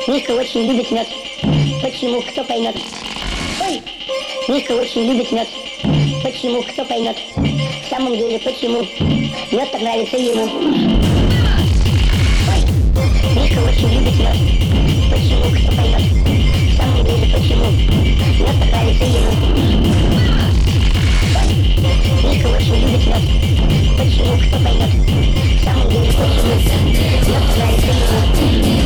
Мишка очень любит мед. Почему? Кто поймет? Ой! Мишка очень любит мед. Почему? Кто поймет? В самом деле, почему? Мед так нравится ему. Ой! Мишка очень любит мед. Почему? Кто поймет? В самом деле, почему? Мед так нравится ему. Ой! Мишка очень любит мед. Почему? Кто поймет? В самом деле, почему? Мед так нравится ему.